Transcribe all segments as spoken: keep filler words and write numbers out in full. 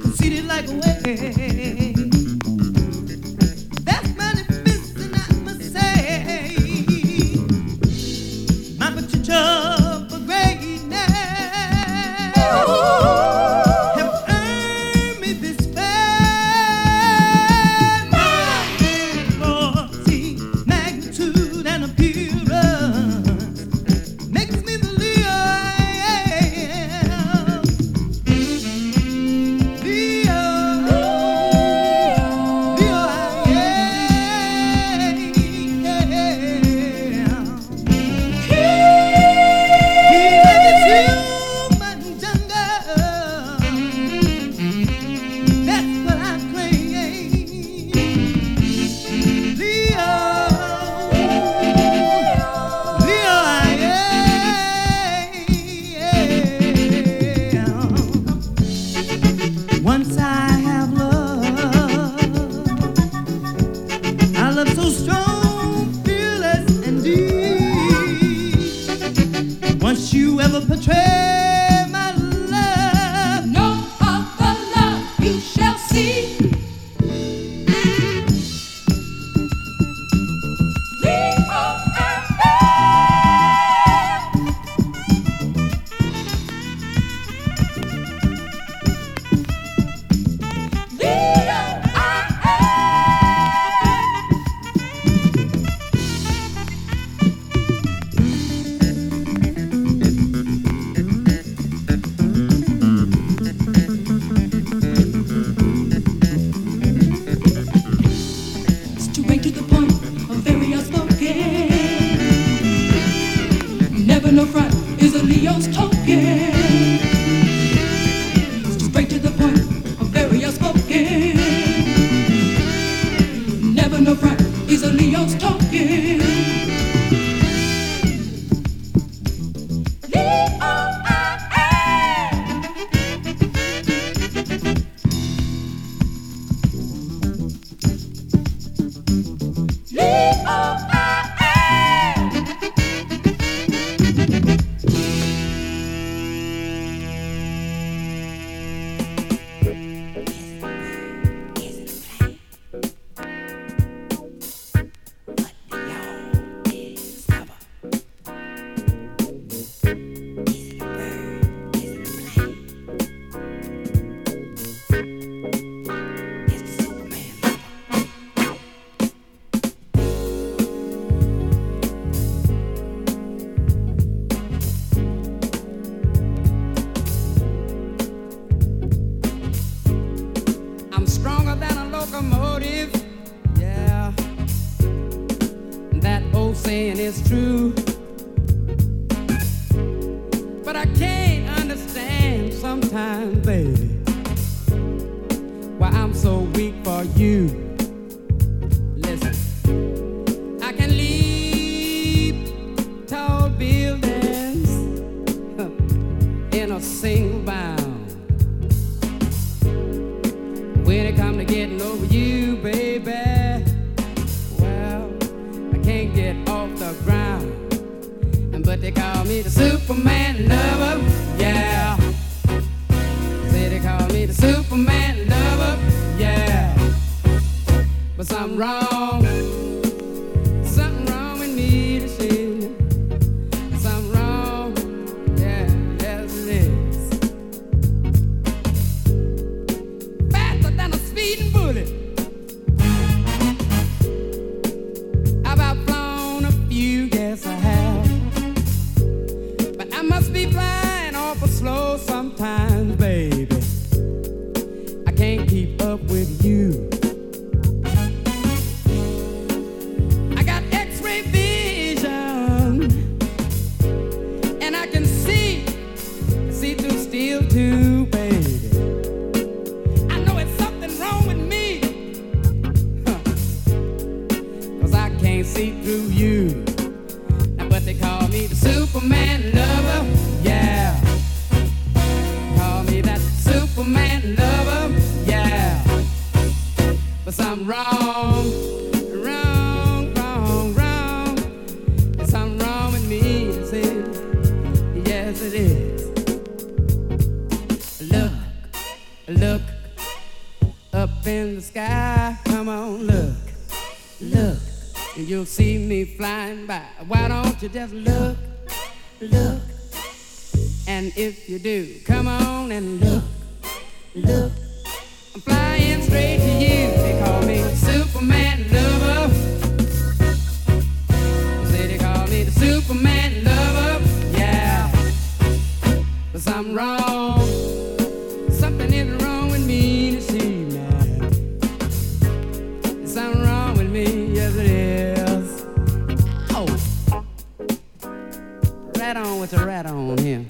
seated like a wave. That's manifesting, I must say, my potential for greatness. Have earned me this fame. For see, magnitude and appearance makes me the Leo I am. Leo, Leo I am. He is human jungle. That's what I claim. Leo, Leo I am. Once I have love, I love so strong, fearless and deep. Once you ever portray my love, No other love you shall see. Leo, I am. Leo, I Straight to the point, very outspoken. Never no front is a Leo's token. Straight to the point, very outspoken. Never no front is a Leo's token. Leo, I am. Leo, I am. I'm stronger than a locomotive. Yeah, that old saying is true. But I can't understand sometimes, baby, why I'm so weak for you. Listen, I can leap tall buildings in a single bound. When it come to getting over you, baby, well, I can't get off the ground. But they call me the Superman lover, yeah. Say they call me the Superman lover, yeah. But something wrong, something wrong with me this evening. Something wrong, yeah, yes it is. Faster than a speeding bullet. I've outflown a few, yes I have. But I must be flying awful slow sometimes, baby. I can't keep up with you. I got X-ray vision, and I can see, see through steel too, baby. I know it's something wrong with me, huh. 'Cause I can't see through you. Now, but they call me the Superman lover, yeah. Call me that Superman lover, yeah. But something wrong, wrong, wrong, wrong. There's something wrong with me, is it? Yes, it is. Look, look, in the sky. Come on, look, look, and you'll see me flying by. Why don't you just look, look, and if you do, come on and look, look. I'm flying straight to you. They call me Superman lover. Say they call me the Superman lover. Yeah, but something wrong. Something is wrong with me this evening. There's something wrong with me, yes it is. Oh, right on with the rat on here.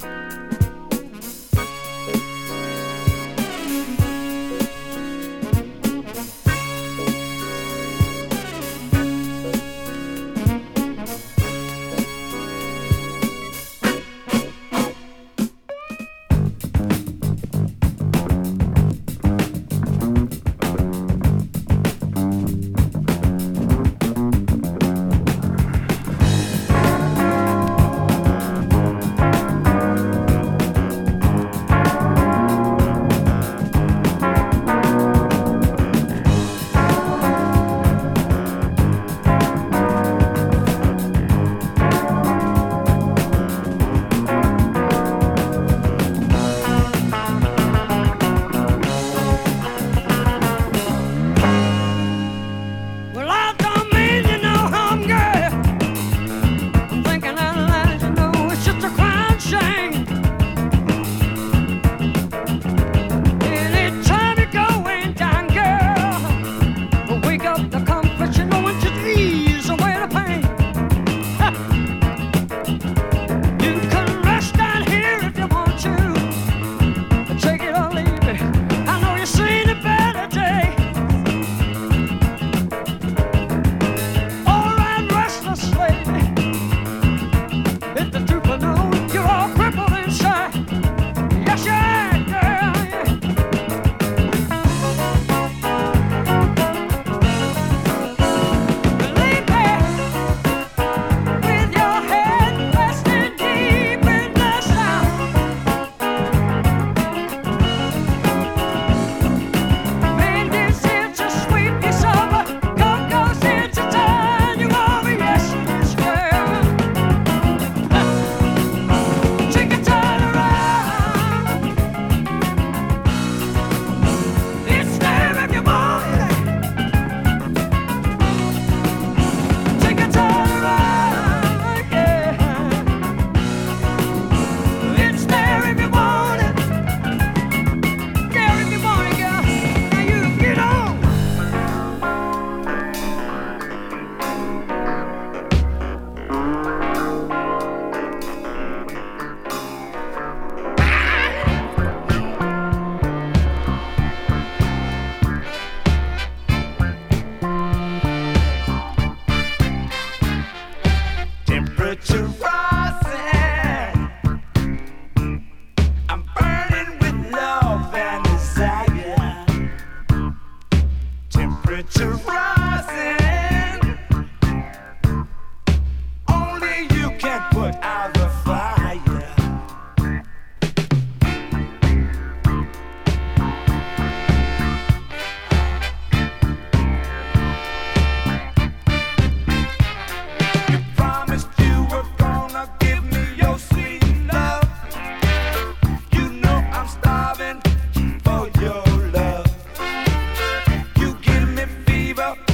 For your love, you give me fever.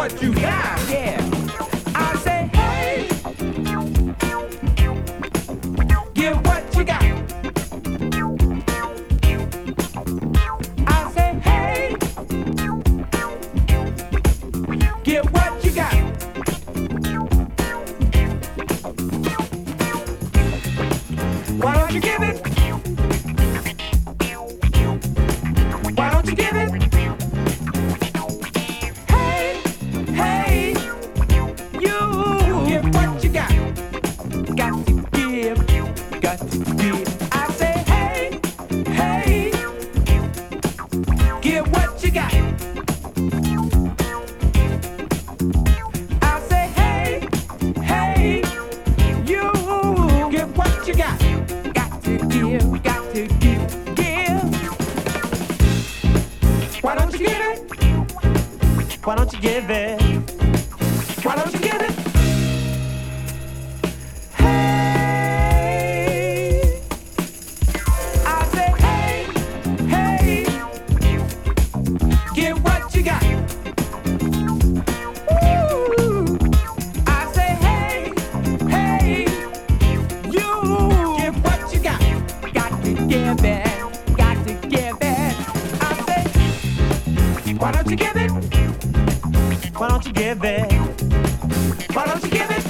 what you got. Yeah. I say, hey, give what you got. I say, hey, give what you got. Why don't you give it? Why don't you give it? Hey, hey, you give what you got. Got to give, got to give. I say, hey, hey, give what you got. I say, hey, hey, you give what you got. Got to give, got to give, give. Why don't you give it? Why don't you give it? Why don't you give it? Hey, I say, hey, hey, give what you got. Ooh, I say, hey, hey, you give what you got. Got to give it, got to give it. I say, why don't you give it? Why don't you give it? Why don't you give it?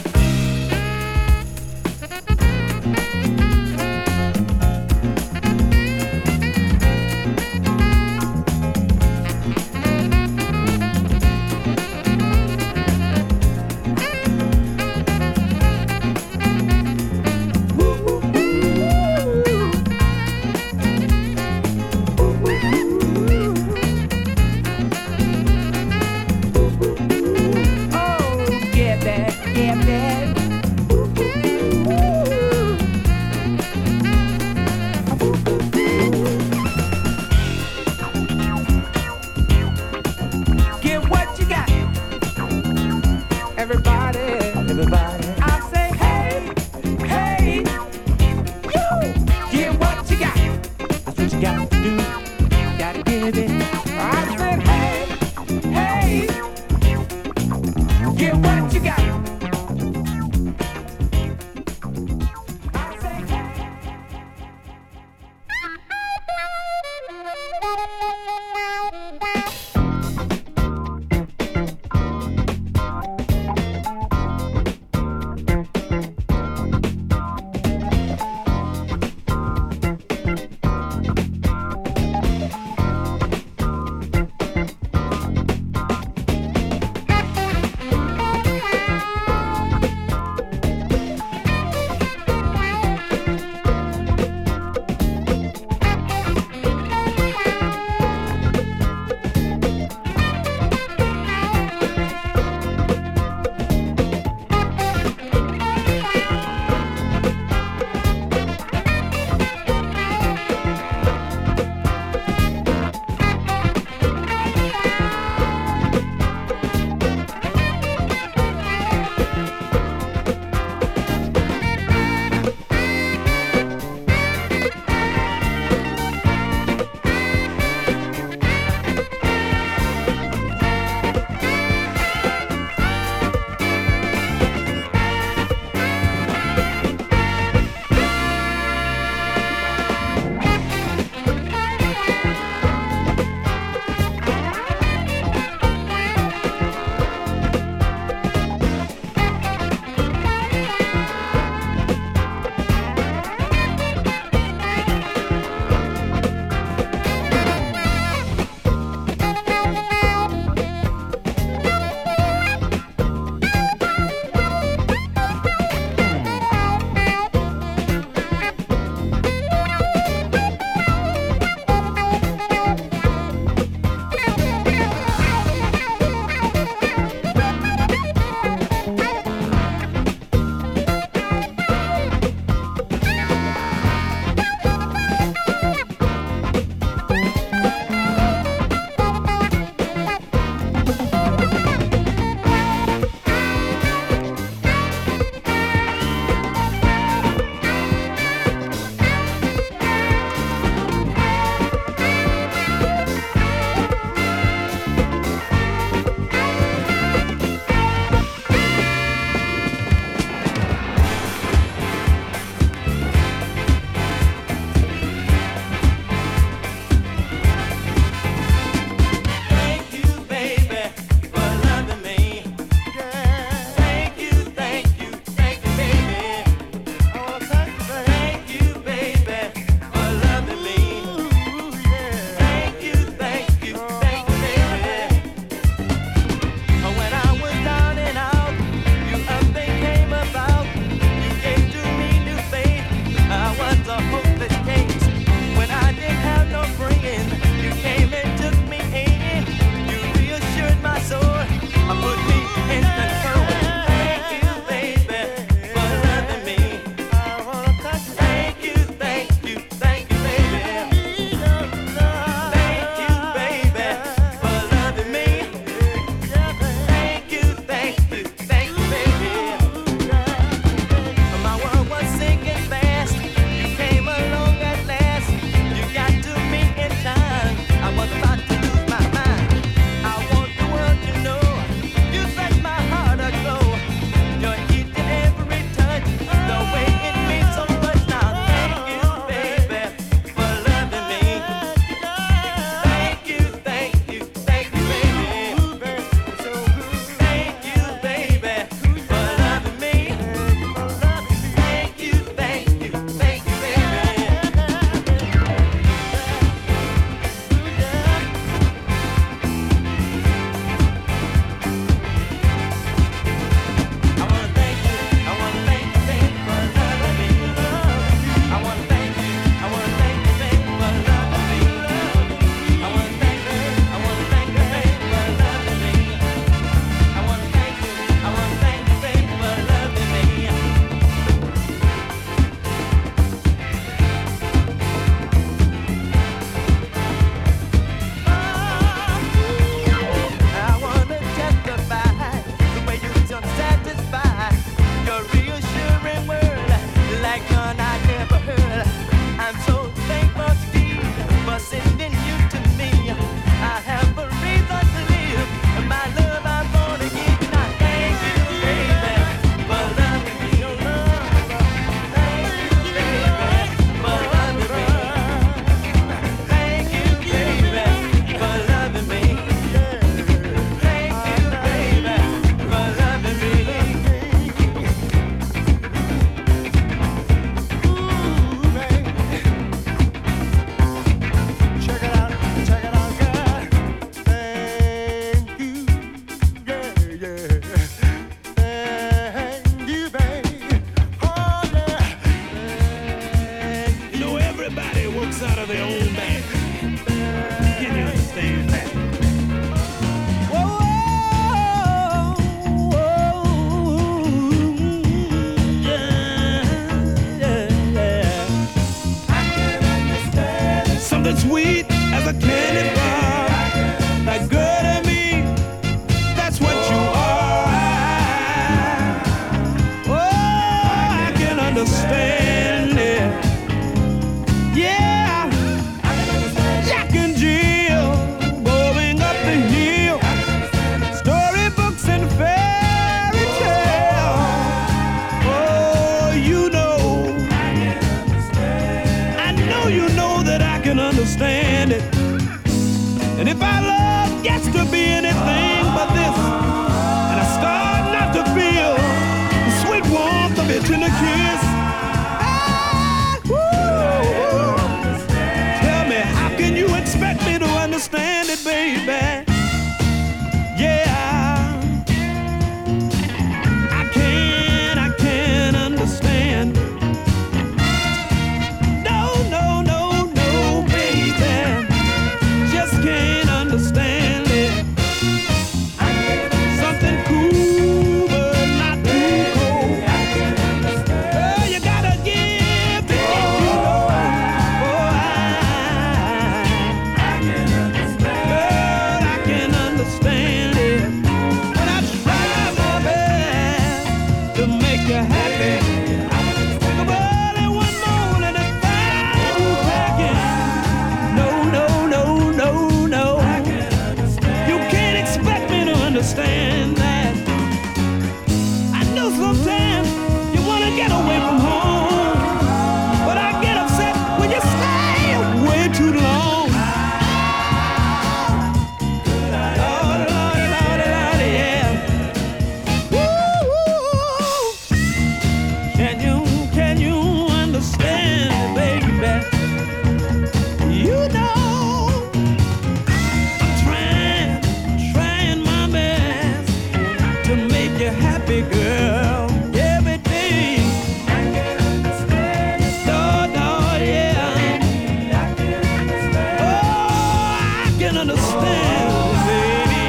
kiss. Ah, woo. Tell me, how can you expect me to understand it, baby? Yeah. I can't, I can't understand. No, no, no, no, baby. Just can't understand it. Something cool, but not too cold. Oh, you gotta give to get you know. Oh, I, girl, I can understand it. When I try my best to make you happy. But early one morning it's fine you packing. No, no, no, no, no. You can't expect me to understand that. I know sometimes you wanna get away from home, but I get upset when you stay away too long. Lordy, lordy, lordy, lordy, yeah. Woo-hoo. Can you, can you understand, baby? You know I'm trying, trying my best to make you happy, girl. Every day. I can understand. Lord, Lord, yeah. Oh, I can understand, baby.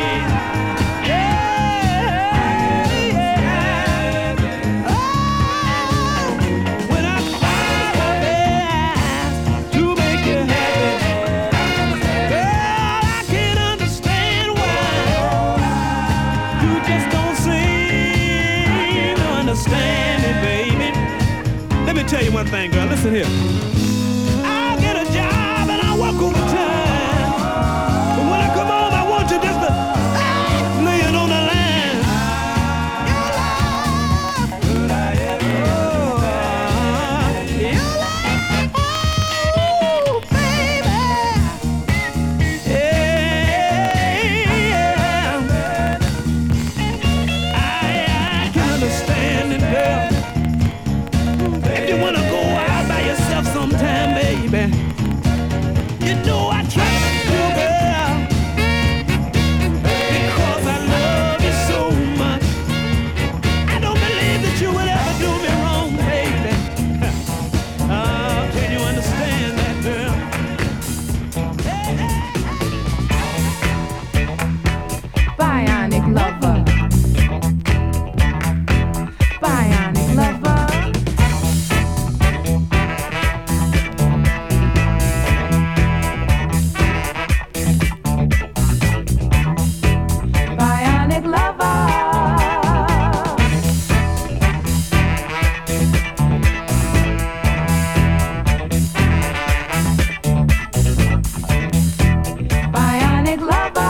Yeah, yeah. Oh, when I try my best to make you happy, girl, I can't understand why you just don't seem to understand it, baby. Let me tell you one thing, girl. Listen here. I'll get a job and I'll work overtime. But when I come home, I want you just to ah, lay it on the line. Your love. Oh, your love. Oh, baby. Yeah. I, I can understand it, girl. If you wanna go out by yourself sometime, baby, you know I trust you, girl, because I love you so much. I don't believe that you would ever do me wrong, baby. Oh, can you understand that, girl? Hey, hey. Bionic lover. Bionic lover. Bionic lover. Bionic lover.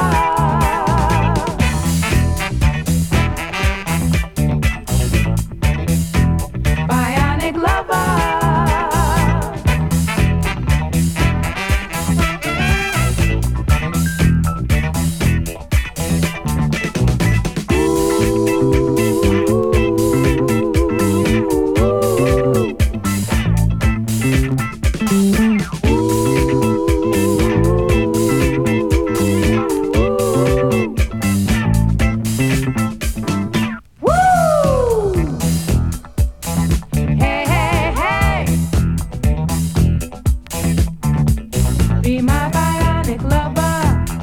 Bionic lover. Woo! Hey, hey, hey. Be my bionic lover.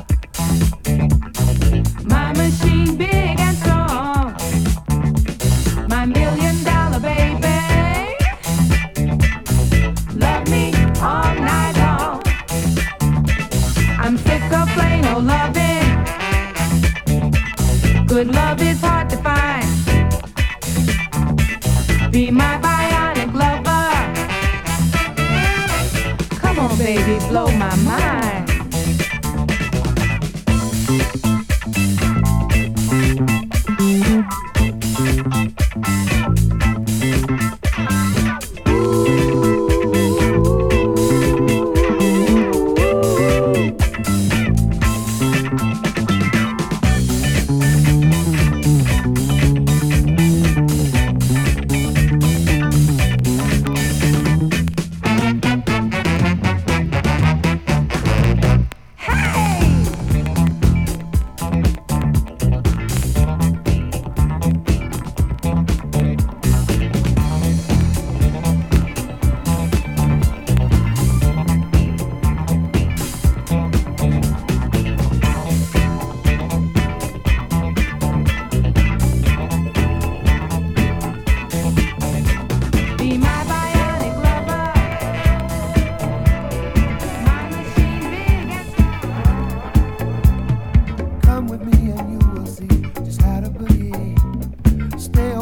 My machine big and strong. My million dollar baby. Love me all night long. I'm sick of plain old loving. Good love is hard to find. Be my bionic lover. Come on, baby, blow my mind.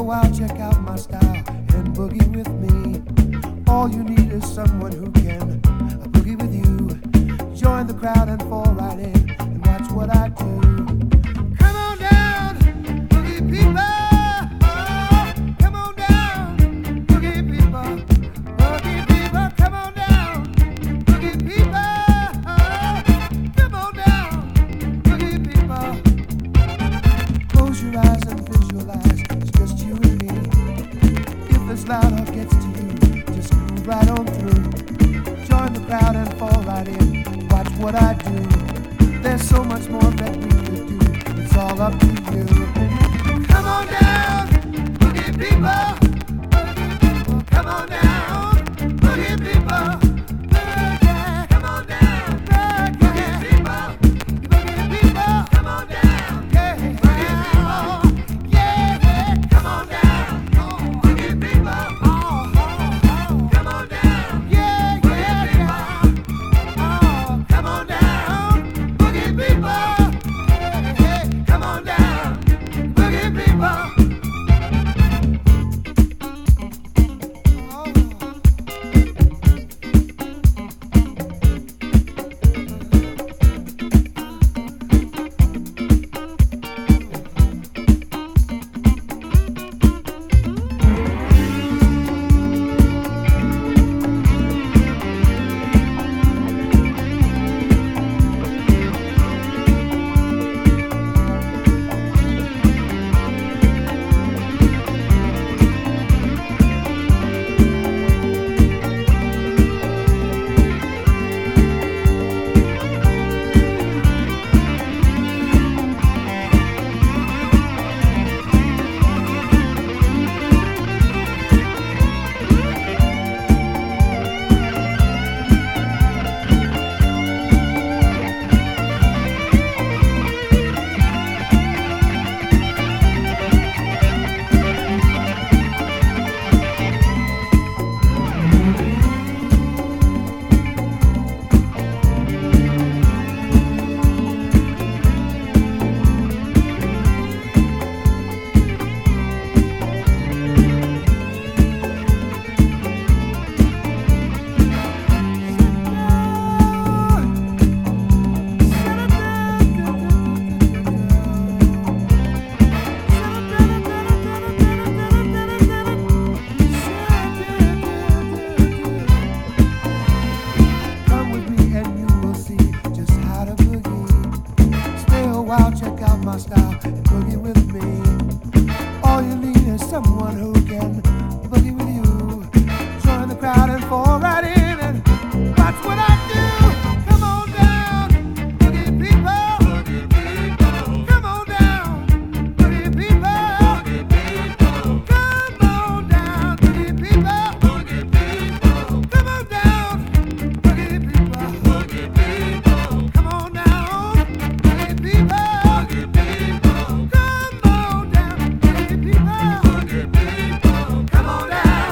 while, check out my style and boogie with me. All you need is someone who can boogie with you. Join the crowd and fall right in and watch what I do. Come on down, boogie people. Oh, come on down, boogie people. Boogie people, come on down, boogie people. Oh, come on down, boogie people. Close your eyes and visualize it's just you and me. If this loud or gets to you, just move right on through. Join the crowd and fall right in. Watch what I do. There's so much more that we could do. It's all up to you. Come on down, boogie people. Come on down, boogie people. Boogie, come on down, boogie people. Boogie people, come on down, yeah, boogie people. Yeah, yeah, come on down, boogie people. Oh, oh, oh, come on down, yeah, yeah, yeah. Oh, come on down, boogie people. Hey, hey, come on down, boogie people. Come with me and you will see just how to boogie. Stay a while, check out my style and boogie with me. All you need is someone who can boogie with you. Join the crowd and fall right in and watch what I do. Come on down, boogie people. Boogie people. Come on down, boogie people. Come on down, boogie people. Boogie people. Come on down, boogie people. Boogie people. Come on down, boogie people. Boogie people. Come on down, boogie people. Boogie people. Come on down.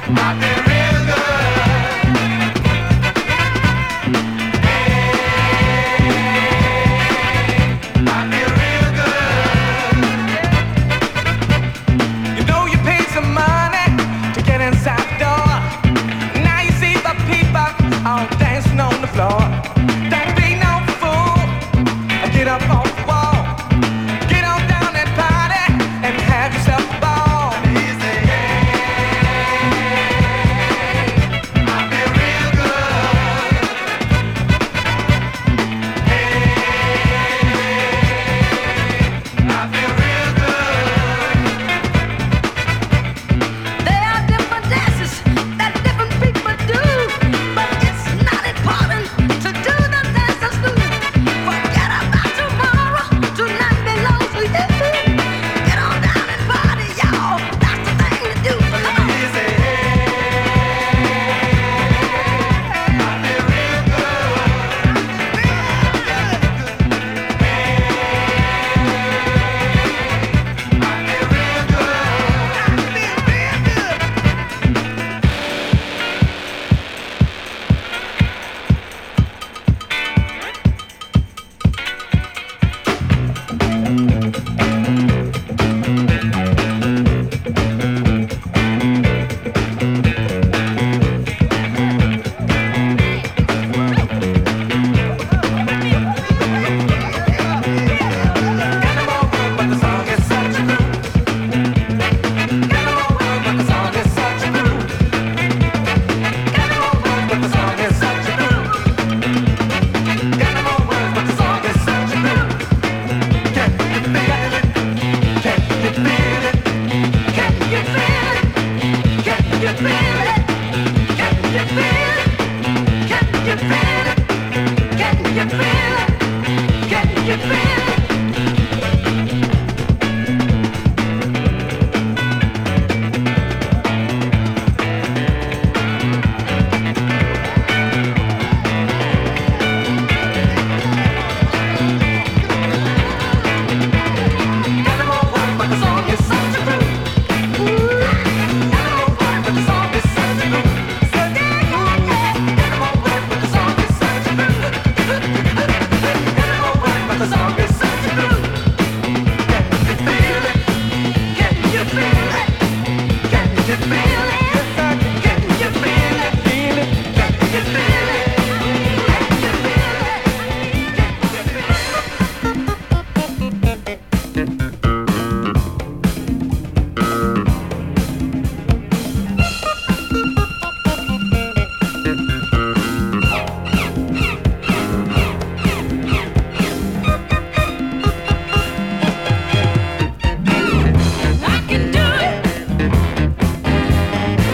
I can do it.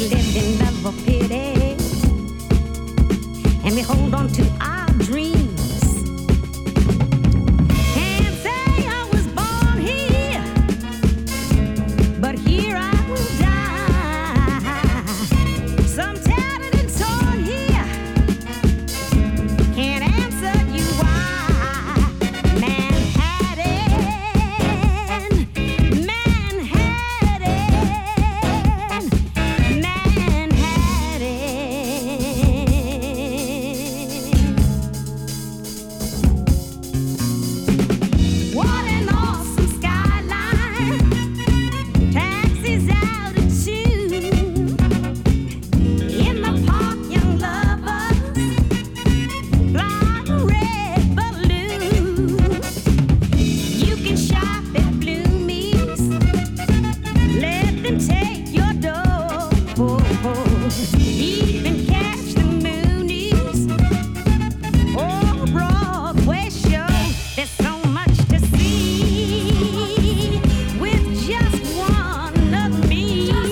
lived in love or pity, and we hold on to our dreams. Can't say I was born here, but here I will die. Some tattered and torn here, can't answer you why. Manhattan, Manhattan, Manhattan. What an awesome skyline, taxis out at two. In the park, young lovers fly a red balloon. You can shop at Bloomies, let them take your dough. Even catch the Moonies or a Broadway show. There's so much to see with just one of me.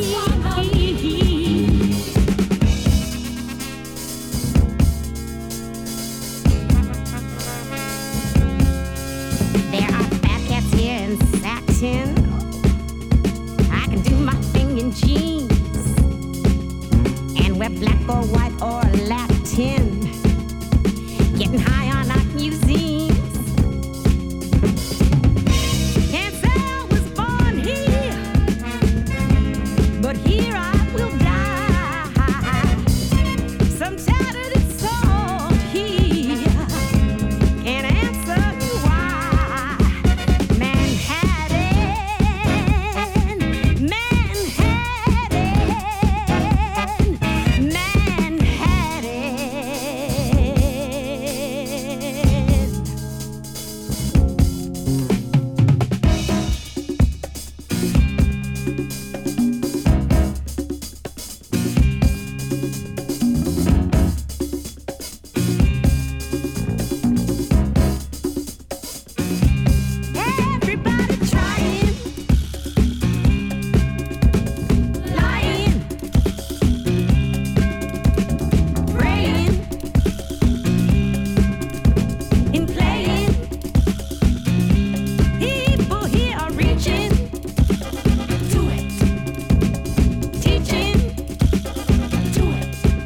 There are fat cats here in satin. I can do my thing in jeans and wear black or white or Latin. Getting high on our cuisines. Can't say I was born here, but here I will die. Some tattered and sold here, can't answer you why. Manhattan, Manhattan, Manhattan. Everybody trying, lying, praying, and playing. People here are reaching to it, teaching to it,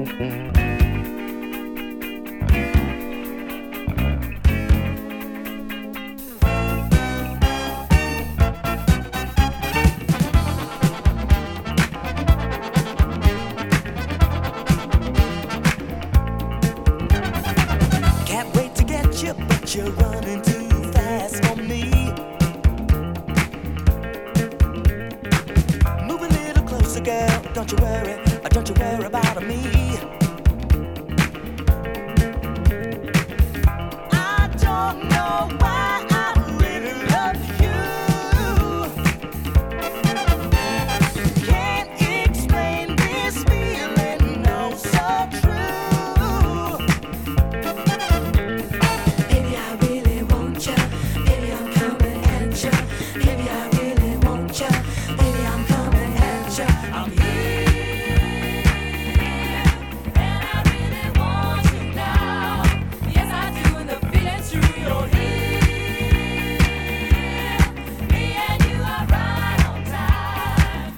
Can't wait to get you, but you're running too fast for me. Move a little closer, girl. Don't you worry, don't you worry about me. I don't know why I really love you. Can't explain this feeling, no, so true. Baby, I really want ya. Baby, I'm coming at ya. Baby, I really want ya. Baby, I'm coming at ya. I'm here, and I really want you now. Yes, I do, and the feeling's true. You're here, me and you are right on time.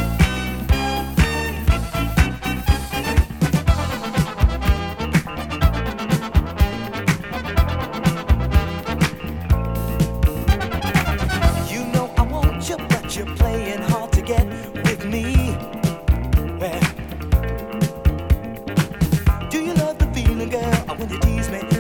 You know I want you, but you're playing hard to get with me. Well, do you love the feeling, girl, when you tease me?